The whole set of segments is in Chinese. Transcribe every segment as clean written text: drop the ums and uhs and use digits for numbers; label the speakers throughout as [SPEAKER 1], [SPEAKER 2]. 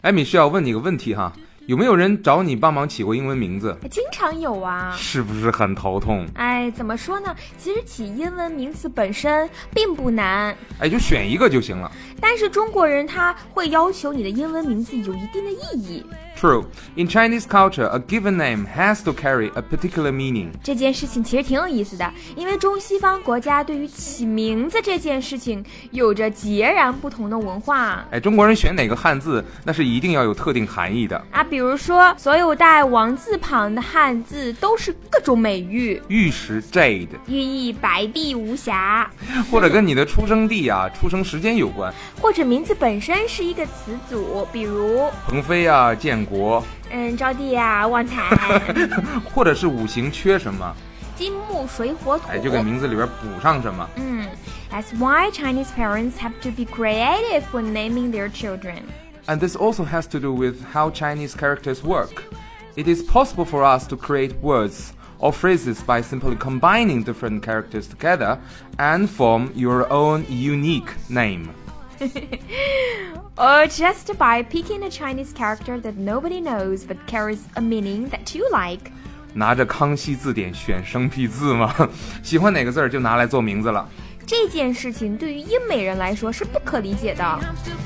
[SPEAKER 1] 艾米是要问你个问题哈，有没有人找你帮忙起过英文名字？
[SPEAKER 2] 经常有啊。
[SPEAKER 1] 是不是很头痛？
[SPEAKER 2] 怎么说呢？其实起英文名字本身并不难，
[SPEAKER 1] 就选一个就行了。
[SPEAKER 2] 但是中国人他会要求你的英文名字有一定的意义。
[SPEAKER 1] True. In Chinese culture, a given name has to carry a particular meaning.
[SPEAKER 2] 这件事情其实挺有意思的，因为中西方国家对于起名字这件事情有着截然不同的文化。
[SPEAKER 1] 中国人选哪个汉字，那是一定要有特定含义的
[SPEAKER 2] 比如说所有带王字旁的汉字都是各种美誉，
[SPEAKER 1] 玉石 Jade，
[SPEAKER 2] 寓意白璧无瑕，
[SPEAKER 1] 或者跟你的出生地出生时间有关，
[SPEAKER 2] 或者名字本身是一个词组，比如
[SPEAKER 1] 鹏飞建国，
[SPEAKER 2] 招娣旺财，
[SPEAKER 1] 或者是五行缺什么，
[SPEAKER 2] 金木水火土，
[SPEAKER 1] 就给名字里边补上什么。
[SPEAKER 2] That's why Chinese parents have to be creative when naming their children.
[SPEAKER 1] And this also has to do with how Chinese characters work. It is possible for us to create words or phrases by simply combining different characters together and form your own unique name.
[SPEAKER 2] Or just by picking a Chinese character that nobody knows but carries a meaning that you like.
[SPEAKER 1] 拿着康熙字典选生僻字吗？喜欢哪个字就拿来做名字了。
[SPEAKER 2] 这件事情对于英美人来说是不可理解的。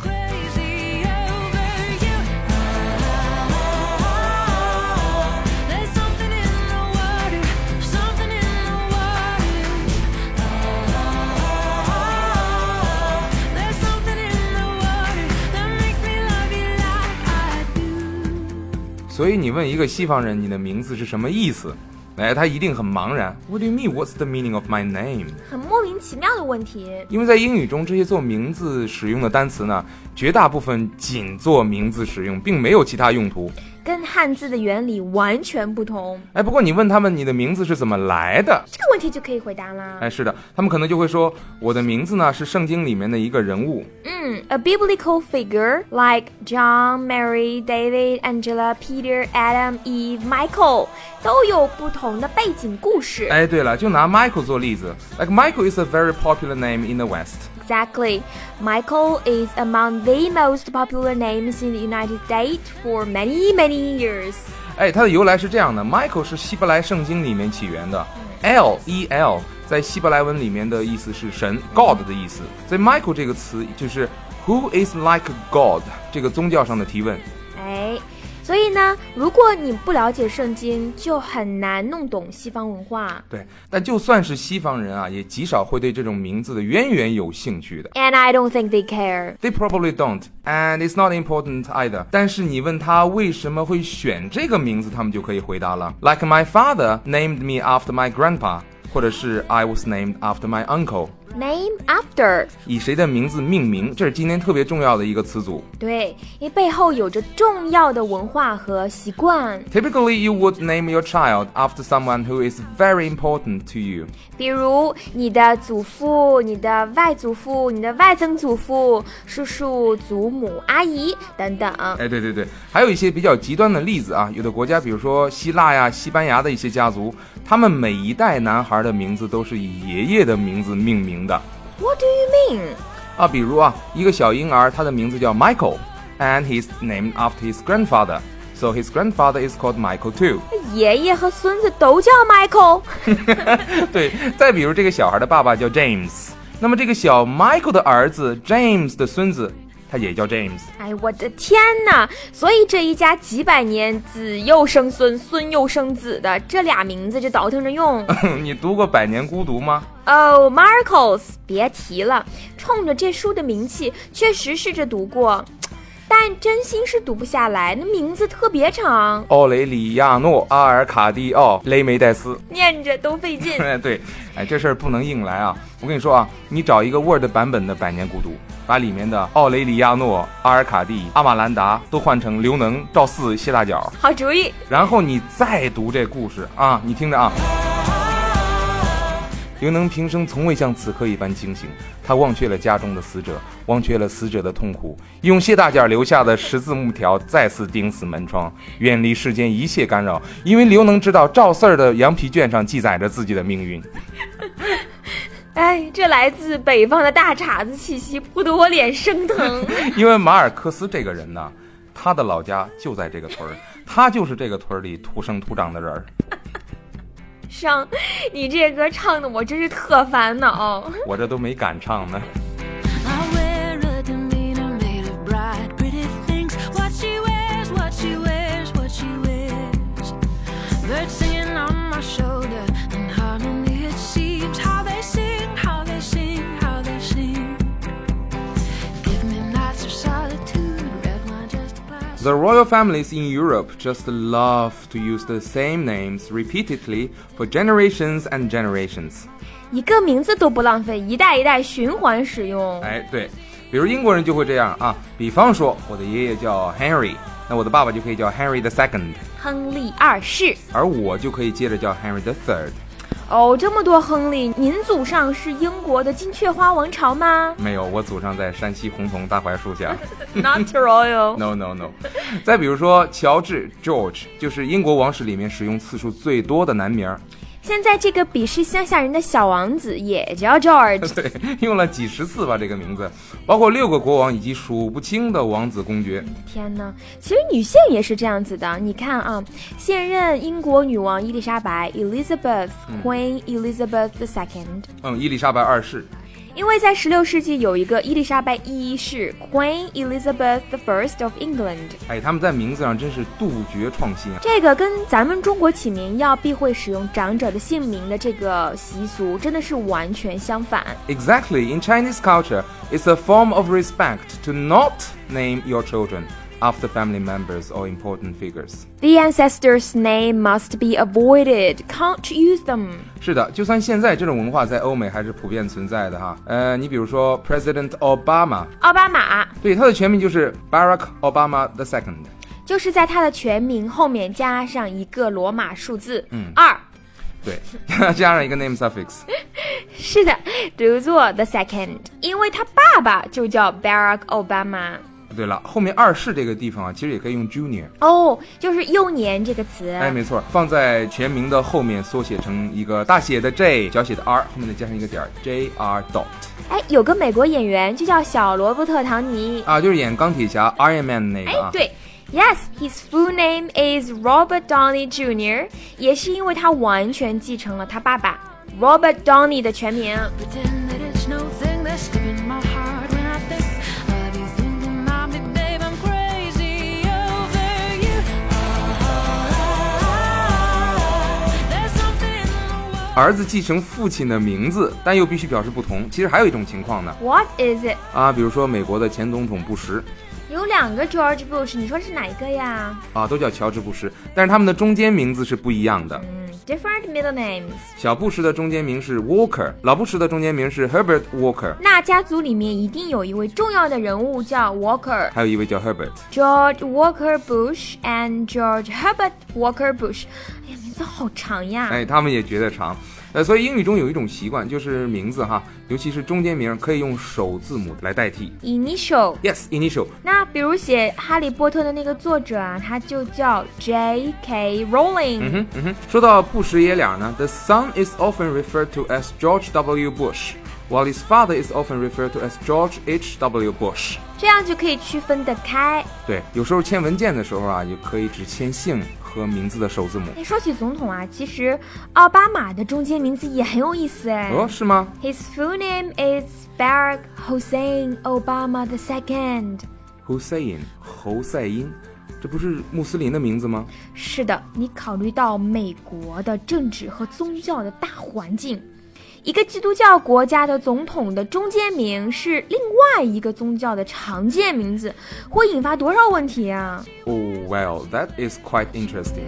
[SPEAKER 1] 所以你问一个西方人你的名字是什么意思，他一定很茫然。What do you mean? What's the meaning of my name?
[SPEAKER 2] 很莫名其妙的问题。
[SPEAKER 1] 因为在英语中，这些做名字使用的单词呢，绝大部分仅做名字使用，并没有其他用途。
[SPEAKER 2] 跟汉字的原理完全不同。
[SPEAKER 1] 不过你问他们你的名字是怎么来的，
[SPEAKER 2] 这个问题就可以回答啦。
[SPEAKER 1] 是的，他们可能就会说，我的名字呢是圣经里面的一个人物。
[SPEAKER 2] A biblical figure like John, Mary, David, Angela, Peter, Adam, Eve, Michael 都有不同的背景故事。
[SPEAKER 1] 对了，就拿 Michael 做例子。Like Michael is a very popular name in the West.Exactly.
[SPEAKER 2] Michael is among the most popular names in the United States for many, many years.
[SPEAKER 1] 它的由来是这样的， Michael 是希伯来圣经里面起源的。L-E-L 在希伯来文里面的意思是神 God 的意思，所以 Michael 这个词就是 Who is like God 这个宗教上的提问。
[SPEAKER 2] 所以呢，如果你不了解圣经，就很难弄懂西方文化。
[SPEAKER 1] 对，但就算是西方人也极少会对这种名字的渊源有兴趣的。
[SPEAKER 2] And I don't think they care.
[SPEAKER 1] They probably don't. And it's not important either. 但是你问他为什么会选这个名字，他们就可以回答了。Like my father named me after my grandpa. 或者是 I was named after my uncle.Name
[SPEAKER 2] after
[SPEAKER 1] 以谁的名字命名，这是今天特别重要的一个词组。
[SPEAKER 2] 对，因为背后有着重要的文化和习惯。
[SPEAKER 1] Typically, you would name your child after someone who is very important to you.
[SPEAKER 2] 比如你的祖父、你的外祖父、你的外曾祖父、叔叔、祖母、阿姨等等。
[SPEAKER 1] 对，还有一些比较极端的例子有的国家，比如说希腊西班牙的一些家族，他们每一代男孩的名字都是以爷爷的名字命名的。
[SPEAKER 2] What do you mean?
[SPEAKER 1] 比如一个小婴儿，他的名字叫 Michael, and he's named after his grandfather. So his grandfather is called Michael too.
[SPEAKER 2] 爷爷和孙子都叫 Michael.
[SPEAKER 1] 对，再比如这个小孩的爸爸叫 James， 那么这个小 Michael 的儿子 James 的孙子，他也叫 James。
[SPEAKER 2] 我的天哪！所以这一家几百年子又生孙，孙又生子的，这俩名字就倒腾着用。
[SPEAKER 1] 你读过《百年孤独》吗
[SPEAKER 2] ？Marcos， 别提了，冲着这书的名气，确实试着读过。但真心是读不下来，那名字特别长。
[SPEAKER 1] 奥雷里亚诺、阿尔卡蒂奥、雷梅戴斯，
[SPEAKER 2] 念着都费劲。
[SPEAKER 1] 对，这事儿不能硬来我跟你说你找一个 Word 版本的《百年孤独》，把里面的奥雷里亚诺、阿尔卡蒂、阿玛兰达都换成刘能、赵四、谢大脚。
[SPEAKER 2] 好主意。
[SPEAKER 1] 然后你再读这故事你听着刘能平生从未像此刻一般清醒，他忘却了家中的死者，忘却了死者的痛苦，用谢大脚留下的十字木条再次钉死门窗，远离世间一切干扰，因为刘能知道赵四儿的羊皮卷上记载着自己的命运。
[SPEAKER 2] 这来自北方的大碴子气息扑得我脸生疼。
[SPEAKER 1] 因为马尔克斯这个人呢， 他的老家就在这个村儿，他就是这个村里土生土长的人儿。
[SPEAKER 2] 上，你这歌唱的我真是特烦恼。
[SPEAKER 1] 我这都没敢唱呢。The royal families in Europe just love to use the same names repeatedly for generations and generations.
[SPEAKER 2] 一个名字都不浪费，一代一代循环使用。
[SPEAKER 1] 哎，对，比如英国人就会这样啊，比方说我的爷爷叫 Henry， 那我的爸爸就可以叫 Henry the Second，
[SPEAKER 2] 亨利二世，
[SPEAKER 1] 而我就可以接着叫 Henry the Third。
[SPEAKER 2] 哦，这么多亨利，您祖上是英国的金雀花王朝吗？
[SPEAKER 1] 没有，我祖上在山西洪洞大槐树下。
[SPEAKER 2] Not royal.
[SPEAKER 1] No. 再比如说乔治 George， 就是英国王室里面使用次数最多的男名。
[SPEAKER 2] 现在这个鄙视乡下人的小王子也叫 George。
[SPEAKER 1] 对，用了几十次吧这个名字，包括6个国王以及数不清的王子公爵。
[SPEAKER 2] 天哪，其实女性也是这样子的。你看啊，现任英国女王伊丽莎白 Elizabeth Queen Elizabeth II。
[SPEAKER 1] 伊丽莎白二世。
[SPEAKER 2] 因为在16世纪有一个伊丽莎白一世 Queen Elizabeth I of England。
[SPEAKER 1] 哎，他们在名字上真是杜绝创新啊！
[SPEAKER 2] 这个跟咱们中国起名要避讳使用长者的姓名的这个习俗真的是完全相反。
[SPEAKER 1] Exactly, in Chinese culture, it's a form of respect to not name your children after family members or important figures.
[SPEAKER 2] The ancestors' name must be avoided. Can't use them.
[SPEAKER 1] 是的，就算现在这种文化在欧美还是普遍存在的哈。你比如说 President Obama，
[SPEAKER 2] 奥巴马，对，
[SPEAKER 1] 他的全名就是 Barack Obama II，
[SPEAKER 2] 就是在他的全名后面加上一个罗马数字
[SPEAKER 1] 2，对，加上一个 name suffix。
[SPEAKER 2] 是的，读作 the second， 因为他爸爸就叫 Barack Obama。
[SPEAKER 1] 对了，后面二世这个地方啊，其实也可以用 junior。
[SPEAKER 2] 哦，就是幼年这个词。
[SPEAKER 1] 哎，没错，放在全名的后面缩写成一个大写的 J， 小写的 R， 后面再加上一个点 JR dot。
[SPEAKER 2] 哎，有个美国演员就叫小罗伯特·唐尼
[SPEAKER 1] 啊，就是演钢铁侠 Iron Man 那个啊。
[SPEAKER 2] 哎，对。Yes, his full name is Robert Downey Jr. 也是因为他完全继承了他爸爸 Robert Downey 的全名。儿子继承父亲的名字，但又必须表示不同。其实还有一种情况呢。What is it？ 啊，比如说美国的前总统布什。有2个 George Bush， 你说是哪一个呀？啊，都叫乔治布什，但是他们的中间名字是不一样的。Different middle names。小布什的中间名是 Walker， 老布什的中间名是 Herbert Walker。那家族里面一定有一位重要的人物叫 Walker， 还有一位叫 Herbert。George Walker Bush and George Herbert Walker Bush。哎呀，名字好长呀！哎，他们也觉得长。所以英语中有一种习惯，就是名字哈，尤其是中间名可以用首字母来代替 Initial。 Yes, initial。 那比如写哈利波特的那个作者啊，他就叫 J.K. Rowling。 说到布什爷俩呢， The son is often referred to as George W. Bush while his father is often referred to as George H.W. Bush。 这样就可以区分得开。对，有时候签文件的时候啊，也可以只签姓和名字的首字母。说起总统啊，其实奥巴马的中间名字也很有意思哎。哦，是吗？ His full name is Barack Hussein Obama II。 Hussein， 侯赛因，这不是穆斯林的名字吗？是的，你考虑到美国的政治和宗教的大环境，一个基督教国家的总统的中间名是另外一个宗教的常见名字，会引发多少问题啊？ Oh, well, that is quite interesting.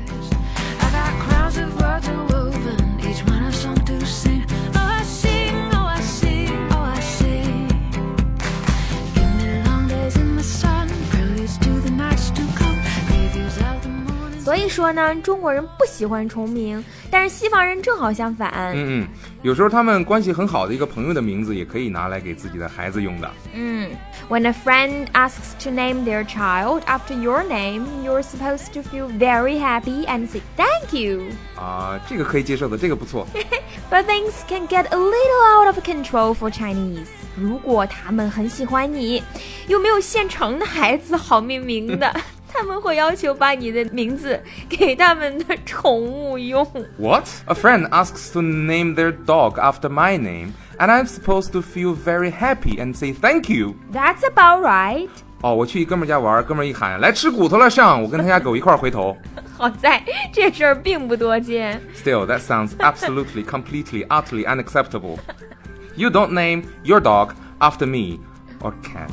[SPEAKER 2] So 所以说呢，中国人不喜欢重名，但是西方人正好相反。有时候他们关系很好的一个朋友的名字也可以拿来给自己的孩子用的。When a friend asks to name their child after your name, you're supposed to feel very happy and say thank you. 啊，这个可以接受的，这个不错。But things can get a little out of control for Chinese.
[SPEAKER 3] 如果他们很喜欢你，又没有现成的孩子好命名的他们会要求把你的名字给他们的宠物用。
[SPEAKER 1] What? A friend asks to name their dog after my name, and I'm supposed to feel very happy and say thank you.
[SPEAKER 3] That's about right.
[SPEAKER 1] 我去一哥们家玩，哥们一喊来吃骨头了上，我跟他家狗一块回头。
[SPEAKER 3] 好在这事儿并不多见。
[SPEAKER 1] Still, that sounds absolutely, completely, utterly unacceptable. You don't name your dog after me or cat.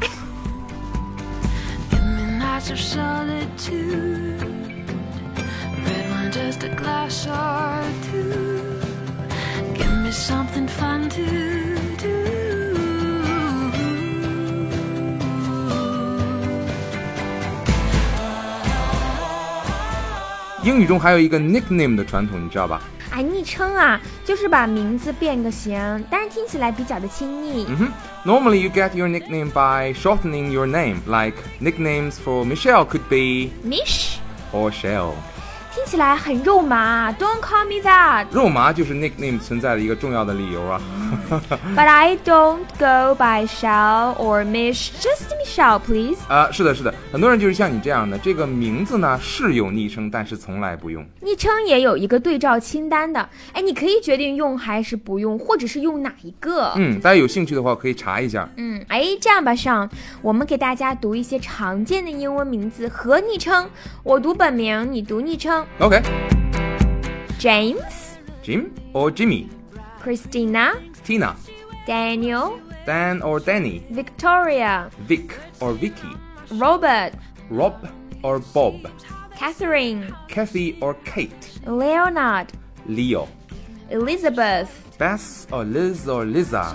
[SPEAKER 4] Give me nights of solitude, red wine, just a glass or two. Give me something fun to do.
[SPEAKER 1] 英语中还有一个 nickname 的传统，你知道吧？
[SPEAKER 3] 昵称啊，就是把名字变个形，但是听起来比较的亲昵。
[SPEAKER 1] Normally you get your nickname by shortening your name, like nicknames for Michelle could be
[SPEAKER 3] Mish
[SPEAKER 1] or Shell.
[SPEAKER 3] 听起来很肉麻 ，Don't call me that.
[SPEAKER 1] 肉麻就是 nickname 存在的一个重要的理由啊。
[SPEAKER 3] But I don't go by Shell or Mish, just Michelle, please.
[SPEAKER 1] 是的，很多人就是像你这样的，这个名字呢是有昵称，但是从来不用。
[SPEAKER 3] 昵称也有一个对照清单的，你可以决定用还是不用，或者是用哪一个。
[SPEAKER 1] 大家有兴趣的话可以查一下。
[SPEAKER 3] 这样吧，上我们给大家读一些常见的英文名字和昵称，我读本名，你读昵称。
[SPEAKER 1] Okay.
[SPEAKER 3] James,
[SPEAKER 1] Jim or Jimmy.
[SPEAKER 3] Christina,
[SPEAKER 1] Tina.
[SPEAKER 3] Daniel,
[SPEAKER 1] Dan or Danny.
[SPEAKER 3] Victoria,
[SPEAKER 1] Vic or Vicky.
[SPEAKER 3] Robert,
[SPEAKER 1] Rob or Bob.
[SPEAKER 3] Catherine,
[SPEAKER 1] Kathy or Kate.
[SPEAKER 3] Leonard,
[SPEAKER 1] Leo.
[SPEAKER 3] Elizabeth,
[SPEAKER 1] Bess or Liz or Liza.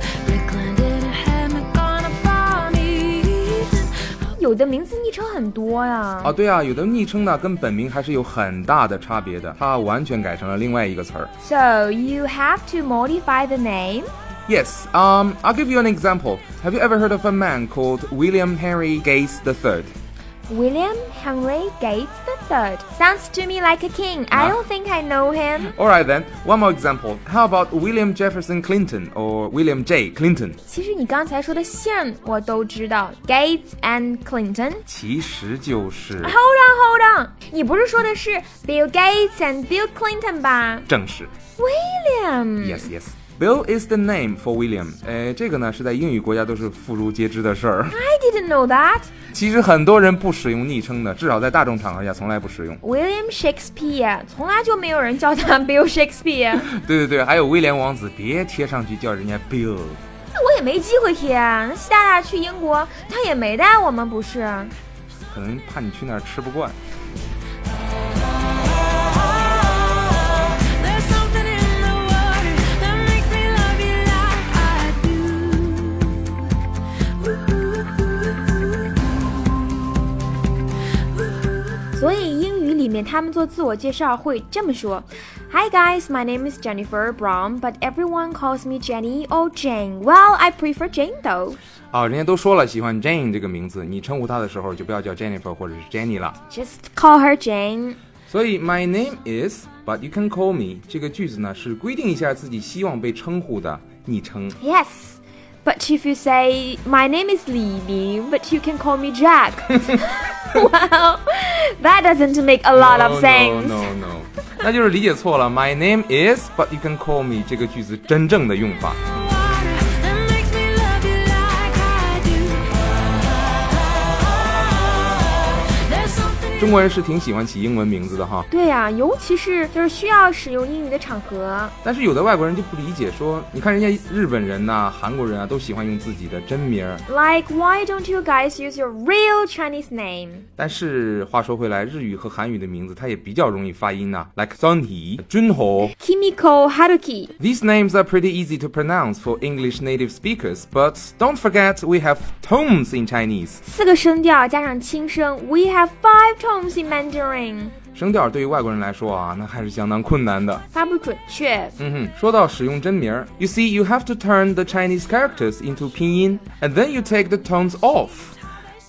[SPEAKER 3] 有的名字昵称很多呀。
[SPEAKER 1] 对啊，有的昵称呢跟本名还是有很大的差别的，它完全改成了另外一个词儿。
[SPEAKER 3] So you have to modify the name?
[SPEAKER 1] Yes, I'll give you an example. Have you ever heard of a man called William Henry Gates III?
[SPEAKER 3] William Henry Gates III. Sounds to me like a king. I don't think I know him.
[SPEAKER 1] Alright then, one more example. How about William Jefferson Clinton or William J. Clinton?
[SPEAKER 3] 其实你刚才说的姓我都知道 Gates and Clinton.
[SPEAKER 1] 其实就是
[SPEAKER 3] Hold on. 你不是说的是 Bill Gates and Bill Clinton 吧？
[SPEAKER 1] 正是
[SPEAKER 3] William.
[SPEAKER 1] Yes.Bill is the name for William. 这个呢是在英语国家都是妇孺皆知的事儿。
[SPEAKER 3] I didn't know that.
[SPEAKER 1] 其实很多人不使用昵称的，至少在大众场合下从来不使用。
[SPEAKER 3] William Shakespeare 从来就没有人叫他 Bill Shakespeare.
[SPEAKER 1] 对，还有威廉王子，别贴上去叫人家 Bill。
[SPEAKER 3] 我也没机会贴啊，习大大去英国，他也没带我们，不是？
[SPEAKER 1] 可能怕你去那儿吃不惯。
[SPEAKER 3] 所以英语里面他们做自我介绍会这么说 Hi guys, my name is Jennifer Brown, but everyone calls me Jenny or Jane. Well, I prefer Jane though.
[SPEAKER 1] 人家都说了喜欢 Jane 这个名字，你称呼她的时候就不要叫 Jennifer 或者是 Jenny 了。
[SPEAKER 3] Just call her Jane.
[SPEAKER 1] 所以 my name is, but you can call me 这个句子呢是规定一下自己希望被称呼的昵称。
[SPEAKER 3] Yes.But if you say, my name is Lily, but you can call me Jack. Well, that doesn't make a lot of sense.
[SPEAKER 1] No. 那就是理解错了。My name is, but you can call me 这个句子真正的用法。中国人是挺喜欢起英文名字的哈。
[SPEAKER 3] 对呀，尤其是就是需要使用英语的场合。
[SPEAKER 1] 但是有的外国人就不理解，说你看人家日本人呐、韩国人啊，都喜欢用自己的真名。
[SPEAKER 3] Like, why don't you guys use your real Chinese name?
[SPEAKER 1] 但是话说回来，日语和韩语的名字它也比较容易发音呐、like Sunhee, Junho,
[SPEAKER 3] Kimiko, Haruki.
[SPEAKER 1] These names are pretty easy to pronounce for English native speakers, but don't forget we have tones in Chinese.
[SPEAKER 3] 4个声调加上轻声 We have 5 tones in Mandarin.
[SPEAKER 1] 声调对于外国人来说啊，那还是相当困难的，
[SPEAKER 3] 发不准确。
[SPEAKER 1] 说到使用真名 You see, you have to turn the Chinese characters into pinyin, and then you take the tones off.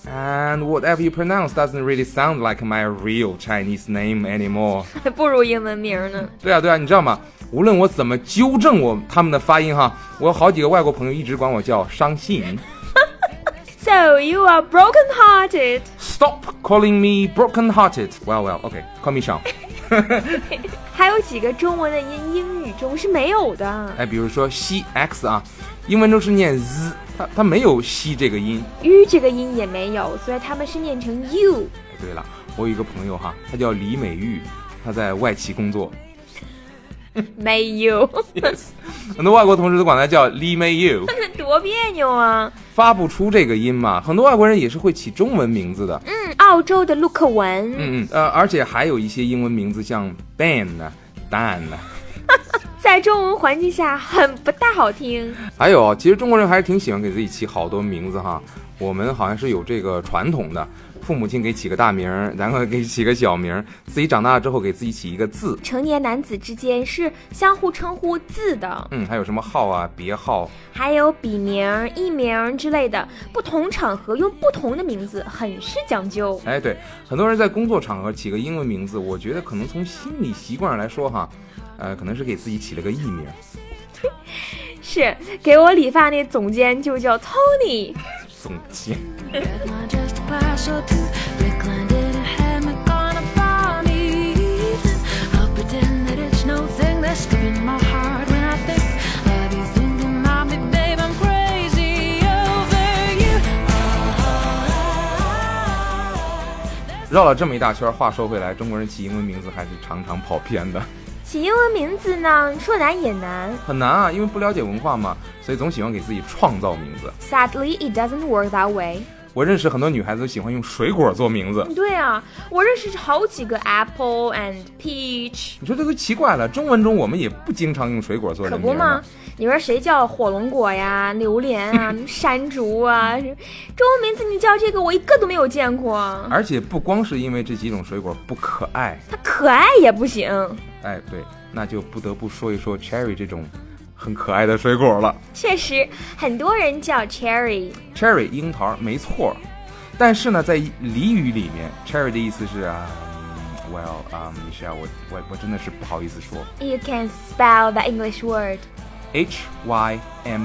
[SPEAKER 1] And whatever you pronounce doesn't really sound like my real Chinese name anymore.
[SPEAKER 3] 还不如英文名呢。
[SPEAKER 1] 对啊，你知道吗？无论我怎么纠正他们的发音哈，我有好几个外国朋友一直管我叫伤心。
[SPEAKER 3] So you are broken-hearted.
[SPEAKER 1] Stop calling me broken-hearted. Well, okay, call me Sean.
[SPEAKER 3] 还有几个中文的音英语中是没有的。
[SPEAKER 1] 比如说西 x 啊，英文中是念 z， 它没有西这个音
[SPEAKER 3] ，u 这个音也没有，所以他们是念成 u。
[SPEAKER 1] 对了，我有一个朋友哈，他叫李美玉，他在外企工作。
[SPEAKER 3] 没有。
[SPEAKER 1] Yes， 很多外国同事都管他叫李美玉。
[SPEAKER 3] 多别扭啊！
[SPEAKER 1] 发不出这个音嘛，很多外国人也是会起中文名字的。
[SPEAKER 3] 澳洲的陆克文。
[SPEAKER 1] 而且还有一些英文名字像 Ben 啊、Dan 啊。
[SPEAKER 3] 在中文环境下很不大好听。
[SPEAKER 1] 还有，其实中国人还是挺喜欢给自己起好多名字哈。我们好像是有这个传统的，父母亲给起个大名，然后给起个小名，自己长大了之后给自己起一个字。
[SPEAKER 3] 成年男子之间是相互称呼字的。
[SPEAKER 1] 还有什么号啊、别号，
[SPEAKER 3] 还有笔名、艺名之类的，不同场合用不同的名字，很是讲究。
[SPEAKER 1] 对，很多人在工作场合起个英文名字，我觉得可能从心理习惯上来说哈，可能是给自己起了个艺名。
[SPEAKER 3] 是，给我理发那总监就叫 Tony。
[SPEAKER 1] 总监。绕了这么一大圈，话说回来，中国人起英文名字还是常常跑偏的。
[SPEAKER 3] 起英文名字呢，说难也难，
[SPEAKER 1] 很难啊，因为不了解文化嘛，所以总喜欢给自己创造名字。
[SPEAKER 3] Sadly, it doesn't work that way.
[SPEAKER 1] 我认识很多女孩子都喜欢用水果做名字。
[SPEAKER 3] 对啊，我认识好几个 Apple and Peach。
[SPEAKER 1] 你说这都奇怪了，中文中我们也不经常用水果做人名。
[SPEAKER 3] 可不吗？你说谁叫火龙果呀、榴莲啊、山竹啊？中文名字你叫这个，我一个都没有见过。
[SPEAKER 1] 而且不光是因为这几种水果不可爱，
[SPEAKER 3] 它可爱也不行。
[SPEAKER 1] 对，那就不得不说一说 Cherry 这种很可爱的水果了。确
[SPEAKER 3] 实，很多人叫 Cherry
[SPEAKER 1] 樱桃，没错。但是呢，在俚语里面 ，Cherry 的意思是Michelle，我真的是不好意思说。
[SPEAKER 3] You can spell the English word.
[SPEAKER 1] Hymen.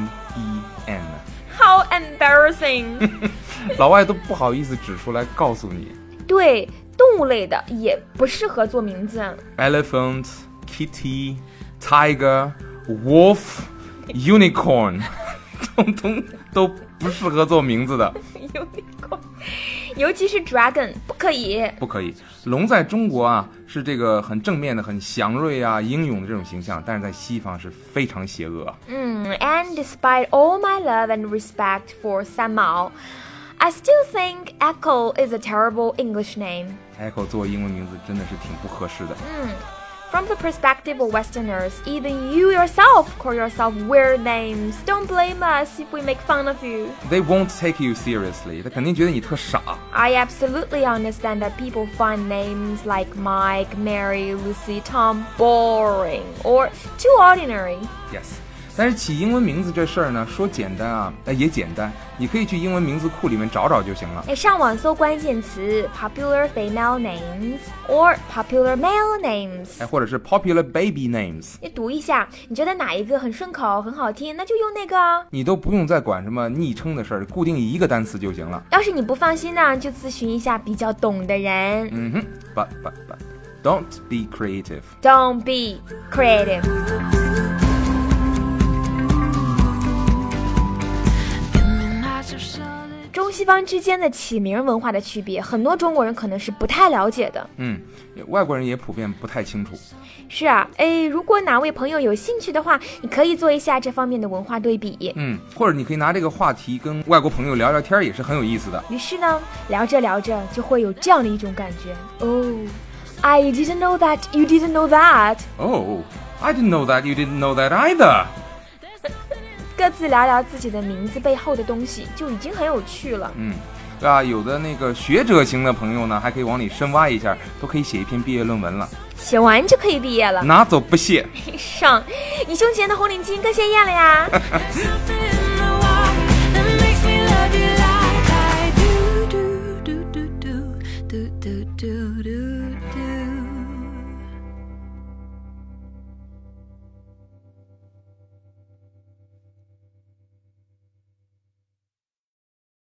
[SPEAKER 3] How embarrassing.
[SPEAKER 1] 老外都不好意思指出来告诉你。
[SPEAKER 3] 对，动物类的也不适合做名字。
[SPEAKER 1] Elephant, kitty, tiger, wolf, unicorn 通通都不适合做名字的。
[SPEAKER 3] unicorn 尤其是 dragon 不可以。
[SPEAKER 1] 龙在中国啊是这个很正面的、很祥瑞啊、英勇的这种形象，但是在西方是非常邪恶。
[SPEAKER 3] And despite all my love and respect for 三毛，I still think Echo is a terrible English name.
[SPEAKER 1] Echo 做英文名字真的是挺不合适的。
[SPEAKER 3] From the perspective of Westerners, even you yourself call yourself weird names. Don't blame us if we make fun of you.
[SPEAKER 1] They won't take you seriously. 他肯定觉得你特傻。
[SPEAKER 3] I absolutely understand that people find names like Mike, Mary, Lucy, Tom boring or too ordinary.
[SPEAKER 1] Yes.但是起英文名字这事儿呢，说简单啊，也简单，你可以去英文名字库里面找找就行了。
[SPEAKER 3] 上网搜关键词 popular female names or popular male names，
[SPEAKER 1] 或者是 popular baby names。
[SPEAKER 3] 你读一下，你觉得哪一个很顺口、很好听，那就用那个。
[SPEAKER 1] 你都不用再管什么昵称的事儿，固定一个单词就行了。
[SPEAKER 3] 要是你不放心呢，就咨询一下比较懂的人。
[SPEAKER 1] But don't be creative.
[SPEAKER 3] Don't be creative. 中西方之间的起名文化的区别，很多中国人可能是不太了解的。
[SPEAKER 1] 外国人也普遍不太清楚。
[SPEAKER 3] 是啊，如果哪位朋友有兴趣的话，你可以做一下这方面的文化对比。
[SPEAKER 1] 或者你可以拿这个话题跟外国朋友聊聊天，也是很有意思的。
[SPEAKER 3] 于是呢，聊着聊着就会有这样的一种感觉。I didn't know that you didn't know that.
[SPEAKER 1] I didn't know that you didn't know that either.
[SPEAKER 3] 各自聊聊自己的名字背后的东西，就已经很有趣了。
[SPEAKER 1] 有的那个学者型的朋友呢，还可以往里深挖一下，都可以写一篇毕业论文了。
[SPEAKER 3] 写完就可以毕业了，
[SPEAKER 1] 拿走不谢。
[SPEAKER 3] 上，你胸前的红领巾更鲜艳了呀。